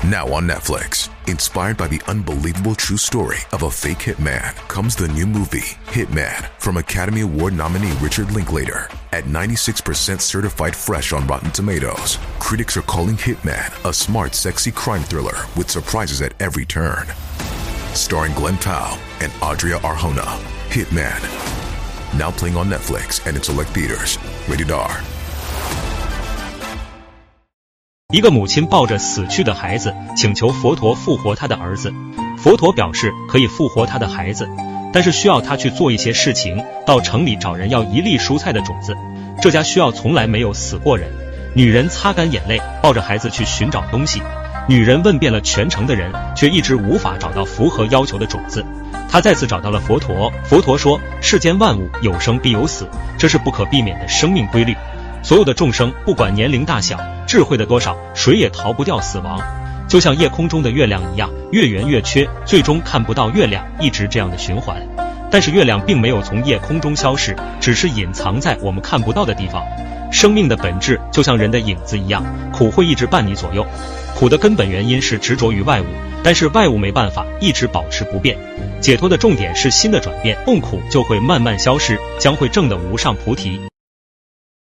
Now on Netflix, inspired by the unbelievable true story of a fake hitman, comes the new movie, Hitman, from Academy Award nominee Richard Linklater. At 96% certified fresh on Rotten Tomatoes, critics are calling Hitman a smart, sexy crime thriller with surprises at every turn. Starring Glenn Powell and Adria Arjona, Hitman. Now playing on Netflix and in select theaters. Rated R. 一个母亲抱着死去的孩子，请求佛陀复活他的儿子。佛陀表示可以复活他的孩子，但是需要他去做一些事情，到城里找人要1粒蔬菜的种子。这家需要从来没有死过人。女人擦干眼泪，抱着孩子去寻找东西。女人问遍了全城的人，却一直无法找到符合要求的种子。她再次找到了佛陀，佛陀说，世间万物有生必有死，这是不可避免的生命规律。所有的众生，不管年龄大小，智慧的多少，谁也逃不掉死亡。就像夜空中的月亮一样，越圆越缺，最终看不到月亮，一直这样的循环。但是月亮并没有从夜空中消失，只是隐藏在我们看不到的地方。生命的本质就像人的影子一样，苦会一直伴你左右。苦的根本原因是执着于外物，但是外物没办法一直保持不变。解脱的重点是心的转变，痛苦就会慢慢消失，将会证得无上菩提。